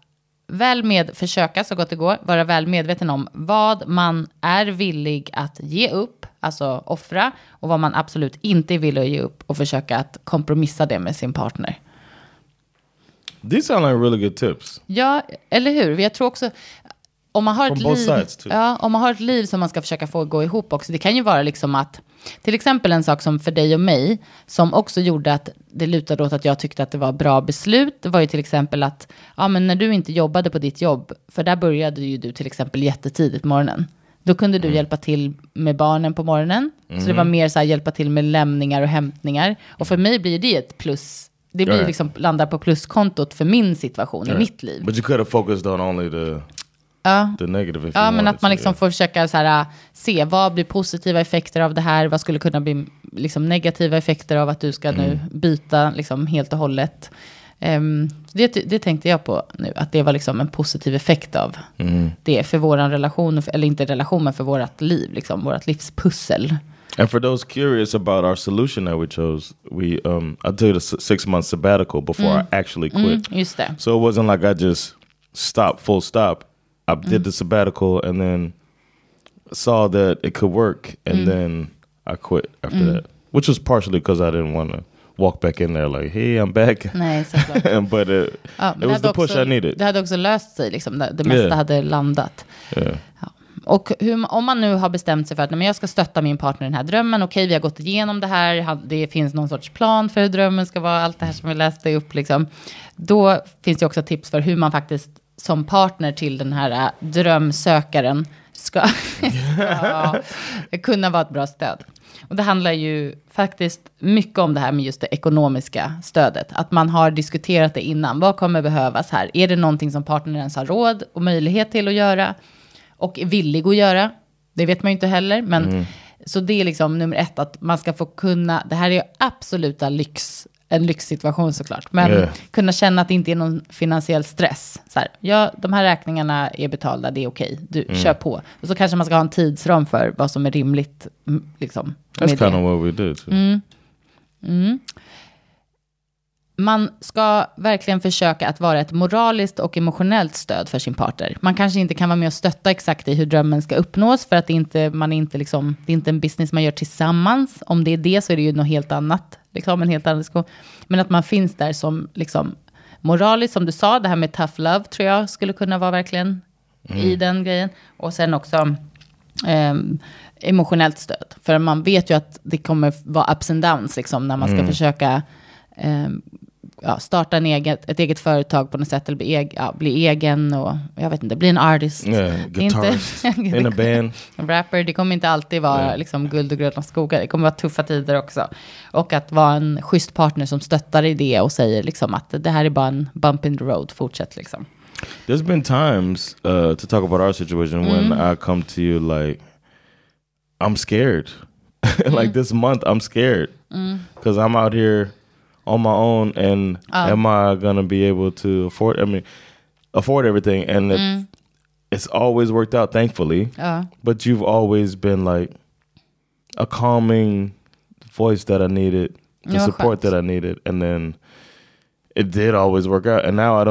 C: försöka så gott det går, vara väl medveten om vad man är villig att ge upp, alltså offra, och vad man absolut inte är villig att ge upp, och försöka att kompromissa det med sin partner.
D: These sound like really good tips.
C: Ja, eller hur? Jag tror också, om man har om man har ett liv som man ska försöka få gå ihop också, det kan ju vara liksom att, till exempel en sak som för dig och mig, som också gjorde att det lutade åt att jag tyckte att det var bra beslut, det var ju till exempel att, men när du inte jobbade på ditt jobb, för där började ju du till exempel jättetidigt på morgonen, då kunde du hjälpa till med barnen på morgonen, så det var mer så här, hjälpa till med lämningar och hämtningar, och för mig blir det ett plus. Det blir liksom, landar på pluskontot för min situation i mitt liv.
D: But you could have focused on only the negative.
C: Men att man liksom får försöka så här, se vad blir positiva effekter av det här, vad skulle kunna bli liksom negativa effekter av att du ska nu byta liksom helt och hållet. Det tänkte jag på nu, att det var liksom en positiv effekt av det för våran relation, eller inte relation, men för vårat liv, liksom vårat livspussel.
D: And for those curious about our solution that we chose, I took a 6-month sabbatical before I actually quit.
C: Just det.
D: So it wasn't like I just stopped, full stop. I did the sabbatical and then saw that it could work, and then I quit after that. Which was partially because I didn't want to walk back in there like, hey, I'm back.
C: Nej, såklart.
D: But it was the push I needed.
C: Det hade också löst sig, liksom, det mesta hade landat.
D: Yeah.
C: Ja. Och om man nu har bestämt sig för att men jag ska stötta min partner i den här drömmen, okej, vi har gått igenom det här, det finns någon sorts plan för hur drömmen ska vara, allt det här som vi läste upp, liksom. Då finns det också tips för hur man faktiskt som partner till den här drömsökaren ska kunna vara ett bra stöd. Och det handlar ju faktiskt mycket om det här med just det ekonomiska stödet. Att man har diskuterat det innan. Vad kommer behövas här? Är det någonting som partnern ens har råd och möjlighet till att göra? Och är villig att göra? Det vet man ju inte heller. Men, så det är liksom nummer 1. Att man ska få kunna... Det här är absoluta en lyxsituation såklart. Men kunna känna att det inte är någon finansiell stress. Så här, de här räkningarna är betalda, det är okej. Du, kör på. Och så kanske man ska ha en tidsram för vad som är rimligt. Liksom,
D: that's kind of what we did.
C: Man ska verkligen försöka att vara ett moraliskt och emotionellt stöd för sin partner. Man kanske inte kan vara med och stötta exakt i hur drömmen ska uppnås, för att det är inte en business man gör tillsammans. Om det är det, så är det ju något helt annat. Liksom, en helt annan diskussion. Men att man finns där som liksom, moraliskt, som du sa, det här med tough love tror jag skulle kunna vara verkligen i den grejen. Och sen också emotionellt stöd. För man vet ju att det kommer vara ups and downs liksom, när man ska försöka starta ett eget företag på något sätt, eller bli egen, och jag vet inte, bli en artist.
D: Guitarist, in a band.
C: Rapper, det kommer inte alltid vara liksom guld och gröna skogar. Det kommer vara tuffa tider också. Och att vara en schysst partner som stöttar i det och säger liksom att det här är bara en bump in the road, fortsätt liksom.
D: There's been times to talk about our situation when I come to you like, I'm scared. Like this month I'm scared because I'm out here on my own, and am I gonna be able to afford everything? And it's always worked out, thankfully. But you've always been like a calming voice that I needed, the support that I needed, and then it did always work out. And now I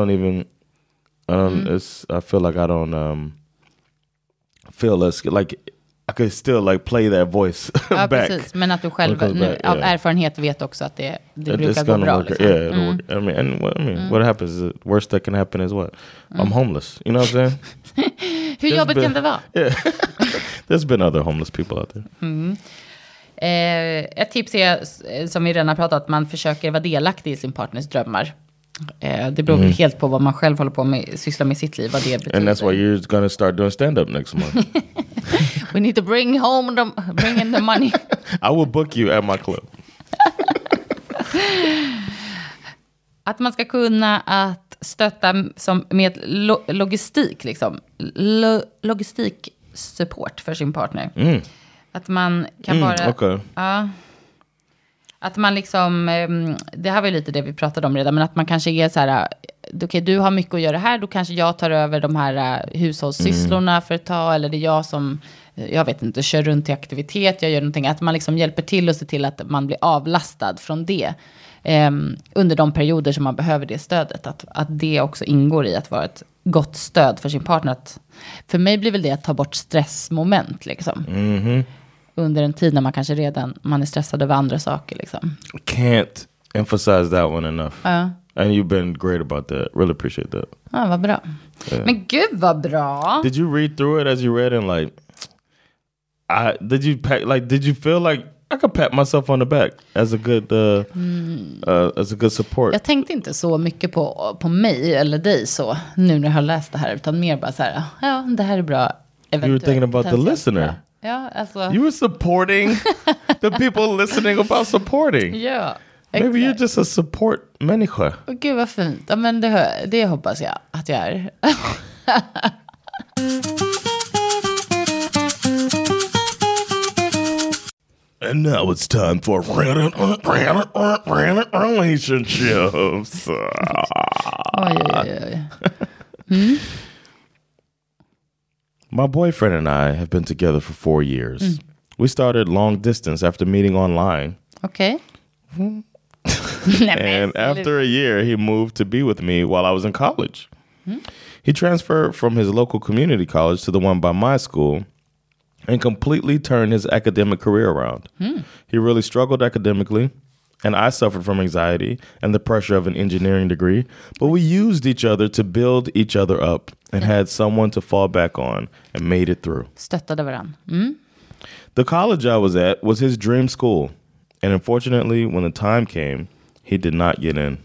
D: feel like I don't feel as like I could still like play that voice back. Precis.
C: Men att du själv av erfarenhet vet också att det brukar gå bra. Liksom.
D: Yeah, it'll work. I mean, what happens is the worst that can happen is what? I'm homeless. You know what I'm saying?
C: Hur jobbigt kan det vara?
D: Yeah. There's been other homeless people out there.
C: Ett tips är, som vi redan har pratat, att man försöker vara delaktig i sin partners drömmar. Det beror helt på vad man själv håller på med, sysslar med sitt liv, vad det betyder.
D: And that's why you're gonna start doing stand-up next month.
C: We need to bring in the money.
D: I will book you at my club.
C: Att man ska kunna att stötta med logistik, liksom. Logistiksupport för sin partner. Att man kan bara... Att man liksom, det här var ju lite det vi pratade om redan, men att man kanske är så här, okej, du har mycket att göra här, då kanske jag tar över de här hushållssysslorna för ett tag, eller det är jag som, jag vet inte, kör runt till aktivitet, jag gör någonting, att man liksom hjälper till och ser till att man blir avlastad från det. under de perioder som man behöver det stödet. Att det också ingår i att vara ett gott stöd för sin partner. För mig blir väl det att ta bort stressmoment liksom. Under en tid när man kanske redan man är stressad över andra saker liksom.
D: Can't emphasize that one enough. And you've been great about that. Really appreciate that.
C: Ja, vad bra. Men gud vad bra.
D: Did you read through it as you read and like did you feel like I could pat myself on the back as a good support?
C: Jag tänkte inte så mycket på mig eller dig så nu när jag har läst det här utan mer bara så här, ja, det här är bra.
D: You were thinking about the listener.
C: Ja, alltså.
D: You were supporting the people listening about supporting.
C: Ja.
D: Maybe you're just a support människa.
C: Gud vad fint. Ja, men det hoppas jag att jag är.
D: And now it's time for relationships.
C: Oj.
D: My boyfriend and I have been together for 4 years. We started long distance after meeting online.
C: Okay.
D: And after a year, he moved to be with me while I was in college. He transferred from his local community college to the one by my school and completely turned his academic career around. He really struggled academically, and I suffered from anxiety and the pressure of an engineering degree, but we used each other to build each other up and had someone to fall back on and made it through.
C: Stöttade varann.
D: The college I was at was his dream school, and unfortunately, when the time came, he did not get in.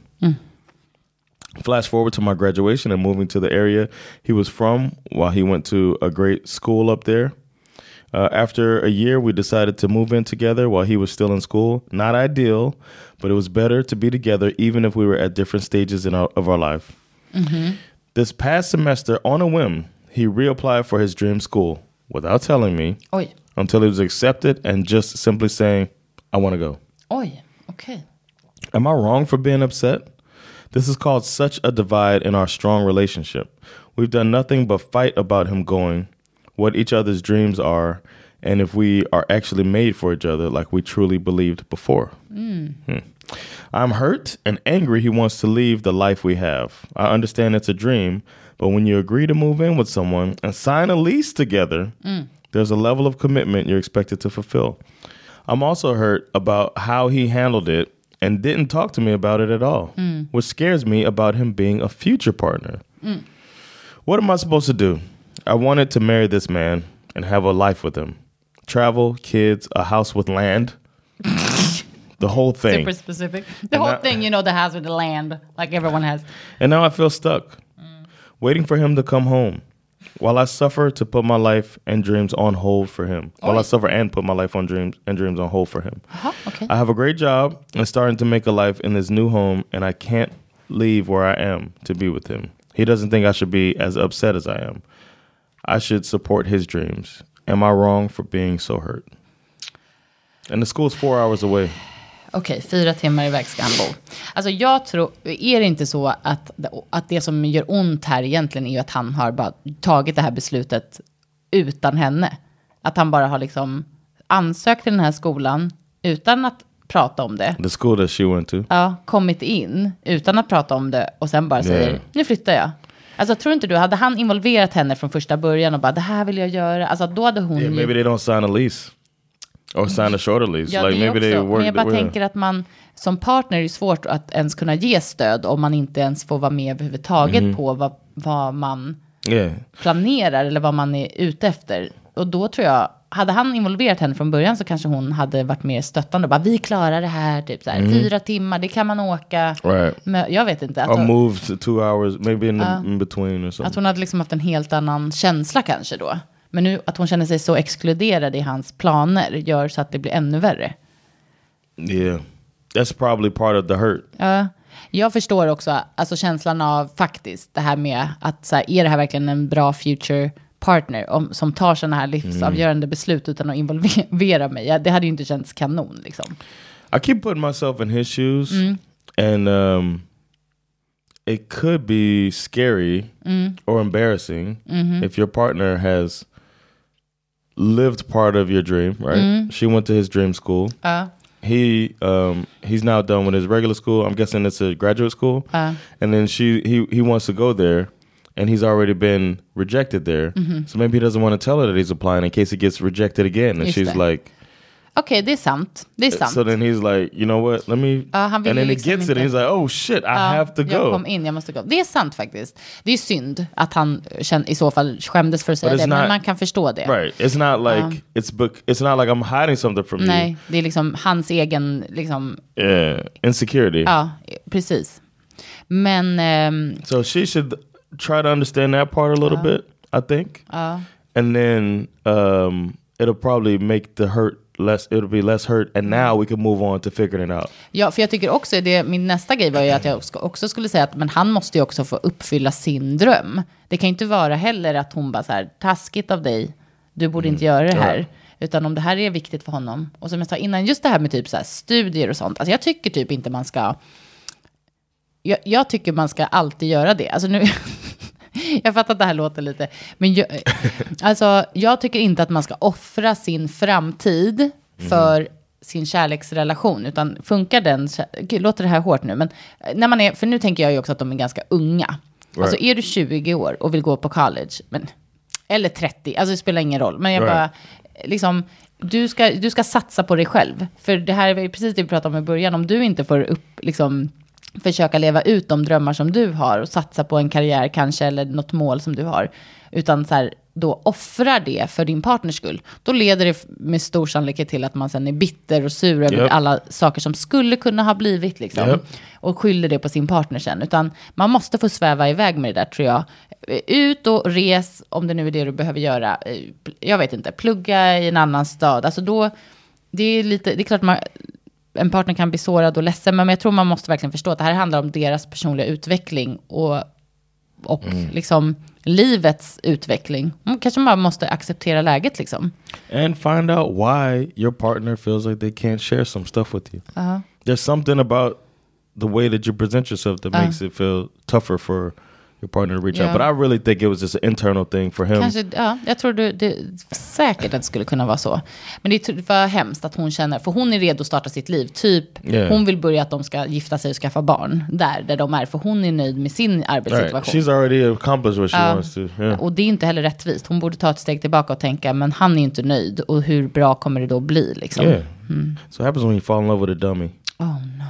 D: Flash forward to my graduation and moving to the area he was from while he went to a great school up there. After a year, we decided to move in together while he was still in school. Not ideal, but it was better to be together even if we were at different stages of our life. This past semester, on a whim, he reapplied for his dream school without telling me until he was accepted and just simply saying, I want to go.
C: Oj, okay.
D: Am I wrong for being upset? This has caused such a divide in our strong relationship. We've done nothing but fight about him going, what each other's dreams are, and if we are actually made for each other like we truly believed before. I'm hurt and angry he wants to leave the life we have. I understand it's a dream, but when you agree to move in with someone and sign a lease together, there's a level of commitment you're expected to fulfill. I'm also hurt about how he handled it and didn't talk to me about it at all, which scares me about him being a future partner. What am I supposed to do? I wanted to marry this man and have a life with him. Travel, kids, a house with land. The whole thing.
C: Super specific. The whole thing, you know, the house with the land, like everyone has.
D: And now I feel stuck, waiting for him to come home. While I suffer to put my life and dreams on hold for him. While I suffer and put my life on dreams on hold for him.
C: Okay.
D: I have a great job and starting to make a life in this new home, and I can't leave where I am to be with him. He doesn't think I should be as upset as I am. I should support his dreams. Am I wrong for being so hurt? And the school's 4 hours away.
C: Okej, 4 timmar iväg ska han bo. Alltså jag tror, är det inte så att det som gör ont här egentligen är ju att han har bara tagit det här beslutet utan henne. Att han bara har liksom ansökt till den här skolan utan att prata om det.
D: The school that she went to.
C: Ja, kommit in utan att prata om det och sen bara säger, nu flyttar jag. Alltså tror inte du, hade han involverat henne från första början och bara, det här vill jag göra. Alltså då hade hon
D: maybe they don't sign a lease. Or sign a shorter lease.
C: Ja,
D: like maybe they work.
C: Men jag bara tänker att man som partner är det svårt att ens kunna ge stöd om man inte ens får vara med överhuvudtaget på vad man planerar eller vad man är ute efter. Och då tror jag, hade han involverat henne från början så kanske hon hade varit mer stöttande. Bara, vi klarar det här, typ så här, 4 timmar, det kan man åka.
D: Right.
C: Men jag vet inte.
D: Or move to 2 hours, maybe in between or something.
C: Att hon hade liksom haft en helt annan känsla kanske då. Men nu att hon känner sig så exkluderad i hans planer gör så att det blir ännu värre.
D: Yeah, that's probably part of the hurt.
C: Ja, jag förstår också alltså känslan av faktiskt det här med att så här, är det här verkligen en bra future partner som tar sådana här livsavgörande beslut utan att involvera mig. Ja, det hade ju inte känts kanon liksom.
D: I keep putting myself in his shoes and it could be scary or embarrassing if your partner has lived part of your dream, right? She went to his dream school. he's now done with his regular school. I'm guessing it's a graduate school. And then he wants to go there, and he's already been rejected there. So maybe he doesn't want to tell her that he's applying in case he gets rejected again. And she's like,
C: okej, det är sant. Det är sant.
D: So then he's like, you know what, let me... and then
C: liksom
D: he gets it and he's like, oh shit, I have to go.
C: Jag måste gå. Det är sant faktiskt. Det är synd att han i så fall skämdes för att säga det, men man kan förstå det.
D: Right, it's not like it's not like I'm hiding something from you.
C: Nej, det är liksom hans egen liksom...
D: insecurity.
C: Ja, precis. Men...
D: so she should try to understand that part a little bit, I think. And then it'll probably make the hurt it'll be less hurt, and now we can move on to figuring it out.
C: Ja, för jag tycker också min nästa grej var ju att jag också skulle säga att men han måste ju också få uppfylla sin dröm. Det kan ju inte vara heller att hon bara så här, taskigt av dig, du borde inte göra det här. Utan om det här är viktigt för honom. Och som jag sa innan, just det här med typ så här studier och sånt. Alltså jag tycker typ inte man ska... Jag tycker man ska alltid göra det. Alltså nu... Jag fattar att det här låter lite... Men jag tycker inte att man ska offra sin framtid för sin kärleksrelation. Utan funkar den... Gud, låter det här hårt nu. Men när man är... För nu tänker jag ju också att de är ganska unga. Right. Alltså är du 20 år och vill gå på college... eller 30, alltså det spelar ingen roll. Men jag bara... Liksom, du ska satsa på dig själv. För det här är ju precis det vi pratade om i början. Om du inte får försöka leva ut de drömmar som du har och satsa på en karriär kanske eller något mål som du har, utan så här, då offrar det för din partners skull, då leder det med stor sannolikhet till att man sen är bitter och sur över alla saker som skulle kunna ha blivit liksom, och skyller det på sin partner sen. Utan man måste få sväva iväg med det där, tror jag. Ut och res, om det nu är det du behöver göra. Jag vet inte, plugga i en annan stad. Alltså då, det är klart en partner kan bli sårad och ledsen, men jag tror man måste verkligen förstå att det här handlar om deras personliga utveckling och liksom livets utveckling. Kanske man måste acceptera läget liksom.
D: And find out why your partner feels like they can't share some stuff with you. There's something about the way that you present yourself that makes it feel tougher for your partner to reach out. But I really think it was just an internal thing for him.
C: Kanske, jag tror det säkert att det skulle kunna vara så. Men det var hemskt att hon känner, för hon är redo att starta sitt liv. Hon vill börja att de ska gifta sig och skaffa barn där de är. För hon är nöjd med sin arbetssituation.
D: Right. She's already accomplished what she wants to.
C: Och det är inte heller rättvist. Hon borde ta ett steg tillbaka och tänka, men han är inte nöjd. Och hur bra kommer det då bli liksom?
D: So what happens when you fall in love with a dummy?
C: Oh no.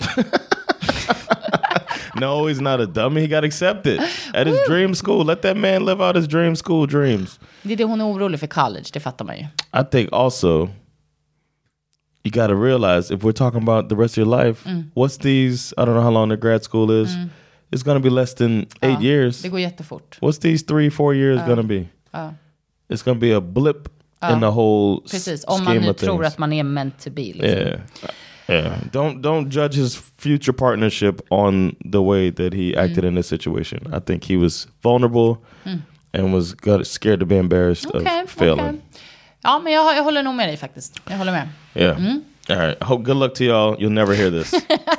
D: No, he's not a dummy. He got accepted at his dream school. Let that man live out his dream school dreams.
C: Det är det hon är orolig för college, det fattar man ju.
D: I think also you got to realize if we're talking about the rest of your life, what's these, I don't know how long the grad school is. It's going to be less than 8 years.
C: Det går jättefort.
D: What's these 3-4 years going to be? It's going to be a blip in the whole
C: precis, om man nu tror att man är meant to be liksom.
D: Yeah. Don't judge his future partnership on the way that he acted in this situation. I think he was vulnerable and was scared to be embarrassed of failing. Okay.
C: Ja, men jag håller nog med dig faktiskt. Jag håller med.
D: Yeah. All right. Good luck to y'all. You'll never hear this.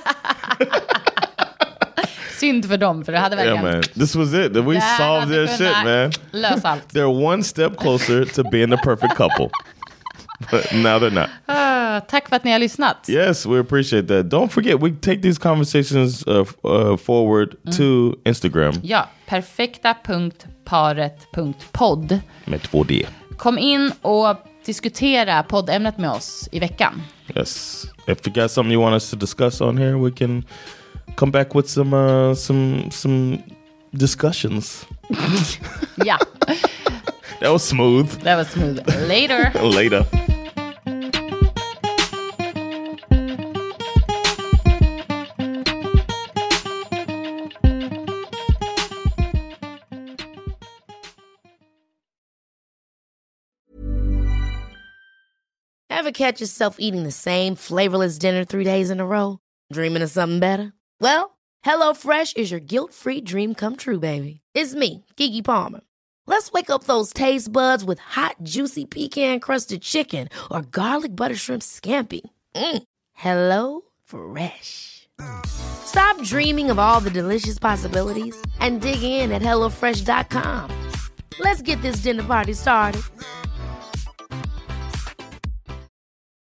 C: Synd för dem, för det hade verkligen...
D: Yeah, man. This was it. We solved their shit, man.
C: Lös allt.
D: They're one step closer to being the perfect couple. But now they're not.
C: Tack för att ni har lyssnat.
D: Yes, we appreciate that. Don't forget, we take these conversations forward to Instagram.
C: Ja, perfekta.paret.podd.
D: Med 2D.
C: Kom in och diskutera poddämnet med oss i veckan.
D: Yes. If you got something you want us to discuss on here, we can come back with some discussions.
C: Ja.
D: That was smooth.
C: Later.
D: Later.
G: Ever catch yourself eating the same flavorless dinner 3 days in a row? Dreaming of something better? Well, HelloFresh is your guilt-free dream come true, baby. It's me, Keke Palmer. Let's wake up those taste buds with hot, juicy pecan-crusted chicken or garlic butter shrimp scampi. Hello Fresh. Stop dreaming of all the delicious possibilities and dig in at HelloFresh.com. Let's get this dinner party started.